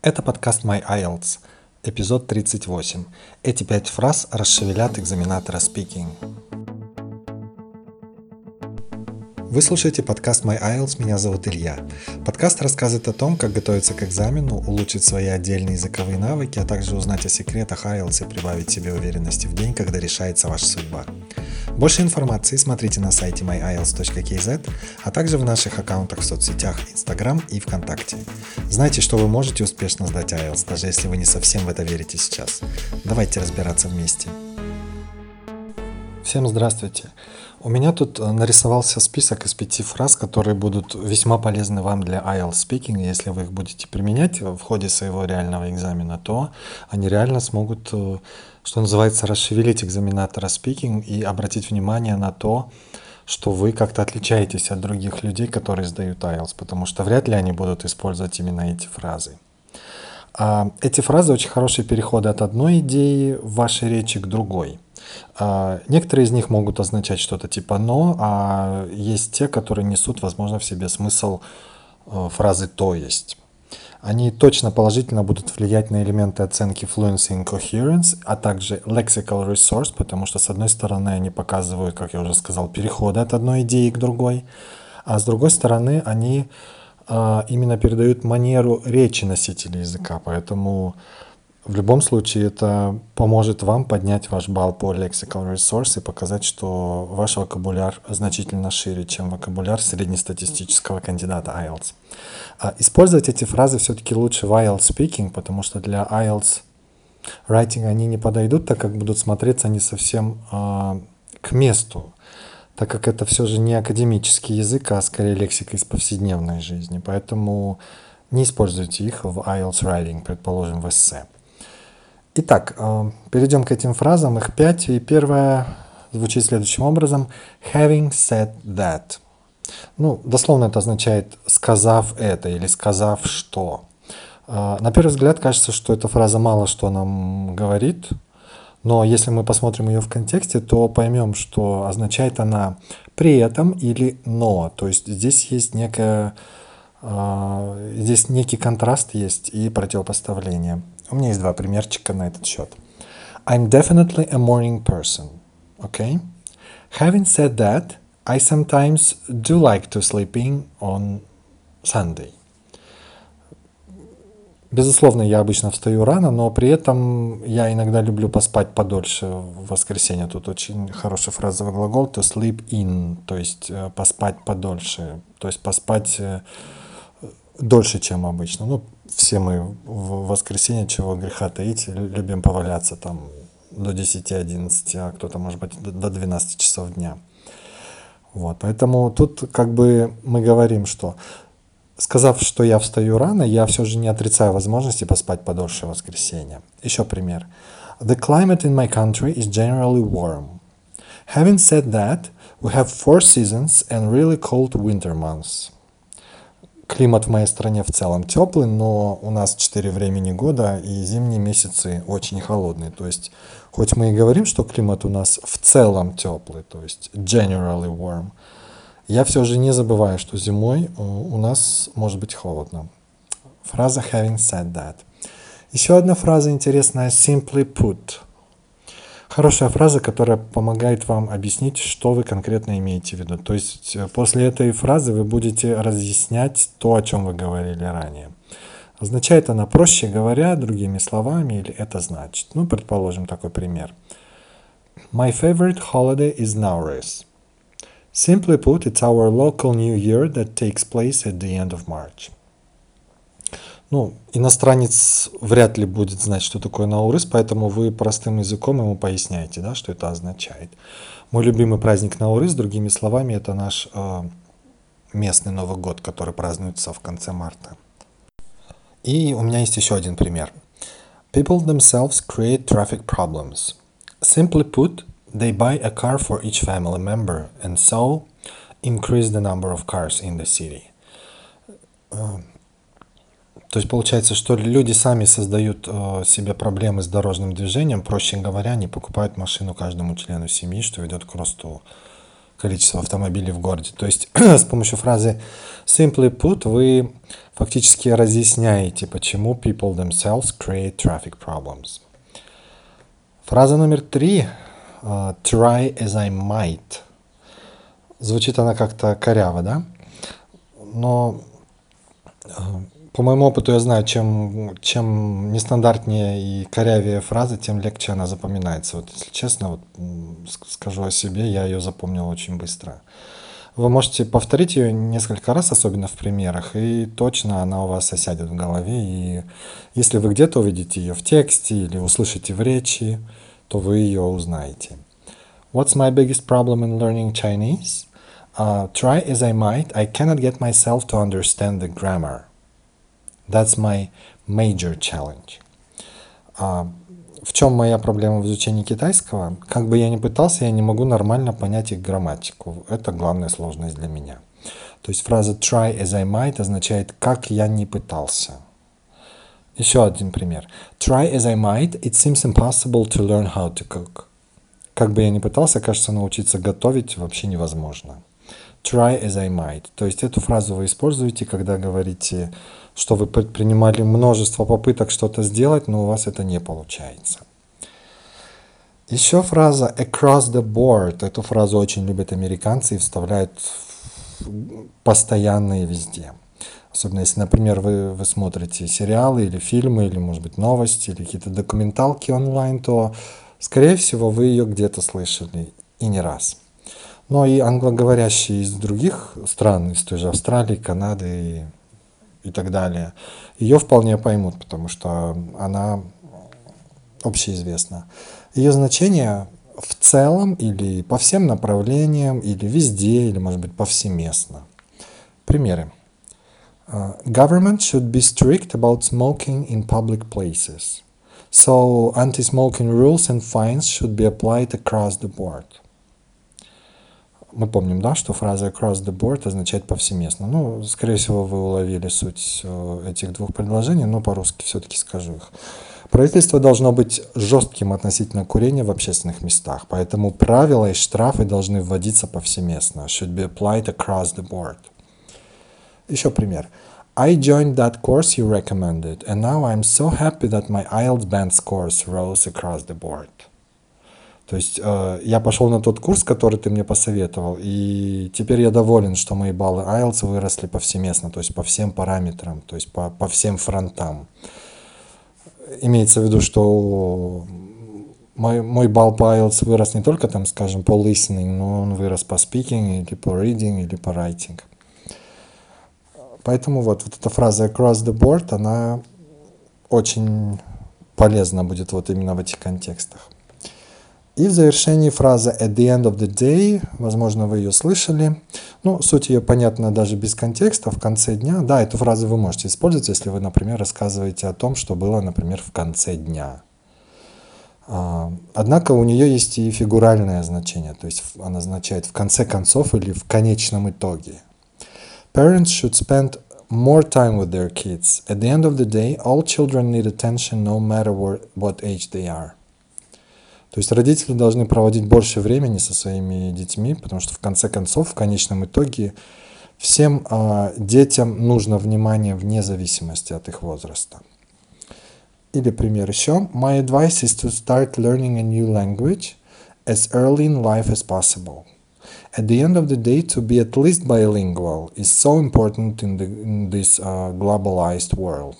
Это подкаст My IELTS, эпизод 38. Эти 5 фраз расшевелят экзаменатора Speaking. Вы слушаете подкаст My IELTS, меня зовут Илья. Подкаст рассказывает о том, как готовиться к экзамену, улучшить свои отдельные языковые навыки, а также узнать о секретах IELTS и прибавить себе уверенности в день, когда решается ваша судьба. Больше информации смотрите на сайте myielts.kz, а также в наших аккаунтах в соцсетях Instagram и ВКонтакте. Знайте, что вы можете успешно сдать IELTS, даже если вы не совсем в это верите сейчас. Давайте разбираться вместе. Всем здравствуйте. У меня тут нарисовался список из 5 фраз, которые будут весьма полезны вам для IELTS Speaking. Если вы их будете применять в ходе своего реального экзамена, то они реально смогут, что называется, расшевелить экзаменатора Speaking и обратить внимание на то, что вы как-то отличаетесь от других людей, которые сдают IELTS, потому что вряд ли они будут использовать именно эти фразы. Эти фразы очень хорошие переходы от одной идеи в вашей речи к другой. Некоторые из них могут означать что-то типа «но», а есть те, которые несут, возможно, в себе смысл фразы «то есть». Они точно положительно будут влиять на элементы оценки fluency and coherence, а также lexical resource, потому что, с одной стороны, они показывают, как я уже сказал, переходы от одной идеи к другой, а с другой стороны, они именно передают манеру речи носителя языка, поэтому в любом случае это поможет вам поднять ваш балл по lexical resource и показать, что ваш вокабуляр значительно шире, чем вокабуляр среднестатистического кандидата IELTS. Использовать эти фразы все-таки лучше в IELTS Speaking, потому что для IELTS Writing они не подойдут, так как будут смотреться не совсем к месту, так как это все же не академический язык, а скорее лексика из повседневной жизни. Поэтому не используйте их в IELTS Writing, предположим, в эссе. Итак, перейдем к этим фразам. Их 5. И первая звучит следующим образом. Having said that. Дословно это означает «сказав это» или «сказав что». На первый взгляд кажется, что эта фраза мало что нам говорит, но если мы посмотрим ее в контексте, то поймем, что означает она «при этом» или «но». То есть здесь есть здесь некий контраст есть и противопоставление. У меня есть 2 примерчика на этот счет. I'm definitely a morning person. Okay? Having said that, I sometimes do like to sleep in on Sunday. Безусловно, я обычно встаю рано, но при этом я иногда люблю поспать подольше в воскресенье. Тут очень хороший фразовый глагол to sleep in, то есть поспать подольше, то есть поспать дольше, чем обычно. Все мы в воскресенье, чего греха таить, любим поваляться там до 10-11, а кто-то, может быть, до 12 часов дня. Поэтому тут мы говорим, что сказав, что я встаю рано, я все же не отрицаю возможности поспать подольше в воскресенье. Еще пример. The climate in my country is generally warm. Having said that, we have 4 seasons and really cold winter months. Климат в моей стране в целом теплый, но у нас 4 времени года и зимние месяцы очень холодные. То есть, хоть мы и говорим, что климат у нас в целом теплый, то есть generally warm, я все же не забываю, что зимой у нас может быть холодно. Фраза having said that. Еще одна фраза интересная, simply put. Хорошая фраза, которая помогает вам объяснить, что вы конкретно имеете в виду. То есть после этой фразы вы будете разъяснять то, о чем вы говорили ранее. Означает она, проще говоря, другими словами, или это значит. Предположим, такой пример. My favorite holiday is Nowruz. Simply put, it's our local New Year that takes place at the end of March. Иностранец вряд ли будет знать, что такое Наурыз, поэтому вы простым языком ему поясняете, что это означает. Мой любимый праздник Наурыз, другими словами, это наш местный Новый год, который празднуется в конце марта. И у меня есть еще один пример. People themselves create traffic problems. Simply put, they buy a car for each family member and so increase the number of cars in the city. То есть получается, что люди сами создают себе проблемы с дорожным движением, проще говоря, они покупают машину каждому члену семьи, что ведет к росту количество автомобилей в городе. То есть с помощью фразы simply put вы фактически разъясняете, почему people themselves create traffic problems. Фраза номер 3. Try as I might. Звучит она как-то коряво, да? Но по моему опыту я знаю, чем нестандартнее и корявее фраза, тем легче она запоминается. Вот, если честно, вот, скажу о себе, я ее запомнил очень быстро. Вы можете повторить ее несколько раз, особенно в примерах, и точно она у вас осядет в голове. И если вы где-то увидите ее в тексте или услышите в речи, то вы ее узнаете. What's my biggest problem in learning Chinese? Try as I might, I cannot get myself to understand the grammar. That's my major challenge. В чем моя проблема в изучении китайского? Как бы я ни пытался, я не могу нормально понять их грамматику. Это главная сложность для меня. То есть фраза try as I might означает «как я не пытался». Еще один пример. Try as I might, it seems impossible to learn how to cook. Как бы я ни пытался, кажется, научиться готовить вообще невозможно. Try as I might. То есть эту фразу вы используете, когда говорите, что вы предпринимали множество попыток что-то сделать, но у вас это не получается. Еще фраза across the board. Эту фразу очень любят американцы и вставляют постоянно и везде. Особенно если, например, вы смотрите сериалы или фильмы, или, может быть, новости, или какие-то документалки онлайн, то, скорее всего, вы ее где-то слышали, и не раз. Но и англоговорящие из других стран, из той же Австралии, Канады и так далее, ее вполне поймут, потому что она общеизвестна. Ее значение в целом или по всем направлениям, или везде, или, может быть, повсеместно. Примеры. Government should be strict about smoking in public places. So anti-smoking rules and fines should be applied across the board. Мы помним, да, что фраза across the board означает повсеместно. Ну, скорее всего, вы уловили суть этих двух предложений, но по-русски все-таки скажу их. Правительство должно быть жестким относительно курения в общественных местах, поэтому правила и штрафы должны вводиться повсеместно. Should be applied across the board. Еще пример. I joined that course you recommended, and now I'm so happy that my IELTS band scores rose across the board. То есть я пошел на тот курс, который ты мне посоветовал, и теперь я доволен, что мои баллы IELTS выросли повсеместно, то есть по всем параметрам, то есть по всем фронтам. Имеется в виду, что мой балл по IELTS вырос не только, там, скажем, по listening, но он вырос по speaking, или по reading, или по writing. Поэтому вот эта фраза across the board, она очень полезна будет вот именно в этих контекстах. И в завершении фраза at the end of the day, возможно, вы ее слышали. Ну, суть ее понятна даже без контекста, в конце дня. Да, эту фразу вы можете использовать, если вы, например, рассказываете о том, что было, например, в конце дня. Однако у нее есть и фигуральное значение, то есть она означает в конце концов или в конечном итоге. Parents should spend more time with their kids. At the end of the day, all children need attention no matter what age they are. То есть родители должны проводить больше времени со своими детьми, потому что в конце концов, в конечном итоге, всем детям нужно внимание вне зависимости от их возраста. Или пример еще. My advice is to start learning a new language as early in life as possible. At the end of the day, to be at least bilingual is so important in this globalized world.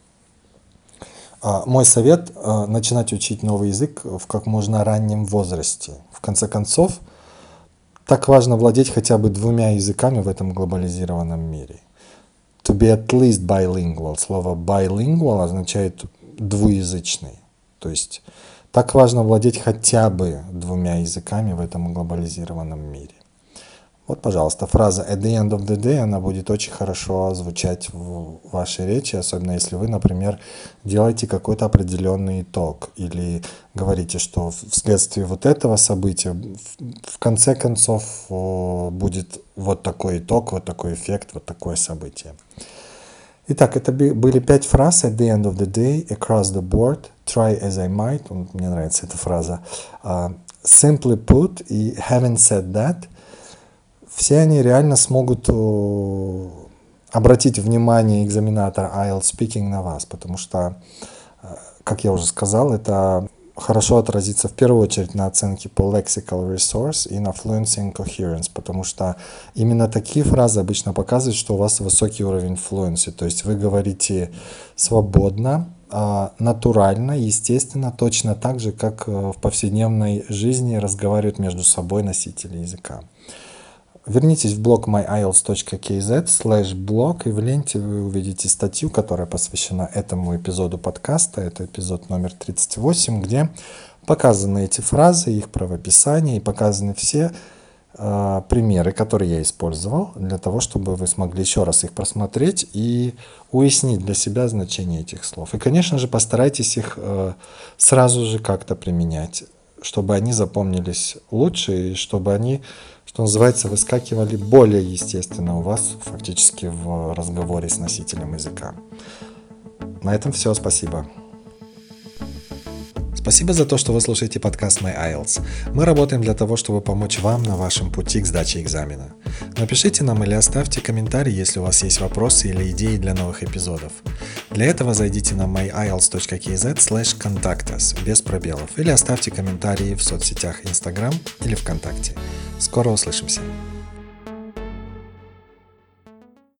Мой совет – начинать учить новый язык в как можно раннем возрасте. В конце концов, так важно владеть хотя бы 2 языками в этом глобализированном мире. To be at least bilingual. Слово bilingual означает двуязычный. То есть так важно владеть хотя бы 2 языками в этом глобализированном мире. Вот, пожалуйста, фраза at the end of the day, она будет очень хорошо звучать в вашей речи, особенно если вы, например, делаете какой-то определенный итог или говорите, что вследствие вот этого события в конце концов будет вот такой итог, вот такой эффект, вот такое событие. Итак, это были 5 фраз at the end of the day, across the board, try as I might, мне нравится эта фраза, simply put и having said that. все они реально смогут обратить внимание экзаменатора IELTS Speaking на вас, потому что, как я уже сказал, это хорошо отразится в первую очередь на оценке по lexical resource и на fluency and coherence, потому что именно такие фразы обычно показывают, что у вас высокий уровень fluency, то есть вы говорите свободно, натурально, естественно, точно так же, как в повседневной жизни разговаривают между собой носители языка. Вернитесь в блог myielts.kz/blog, и в ленте вы увидите статью, которая посвящена этому эпизоду подкаста. Это эпизод номер 38, где показаны эти фразы, их правописание, и показаны все примеры, которые я использовал, для того, чтобы вы смогли еще раз их просмотреть и уяснить для себя значение этих слов. И, конечно же, постарайтесь их сразу же как-то применять, чтобы они запомнились лучше и чтобы они, что называется, выскакивали более естественно у вас фактически в разговоре с носителем языка. На этом все, спасибо. Спасибо за то, что вы слушаете подкаст My IELTS. Мы работаем для того, чтобы помочь вам на вашем пути к сдаче экзамена. Напишите нам или оставьте комментарий, если у вас есть вопросы или идеи для новых эпизодов. Для этого зайдите на myielts.kz/contact us без пробелов или оставьте комментарии в соцсетях Instagram или ВКонтакте. Скоро услышимся!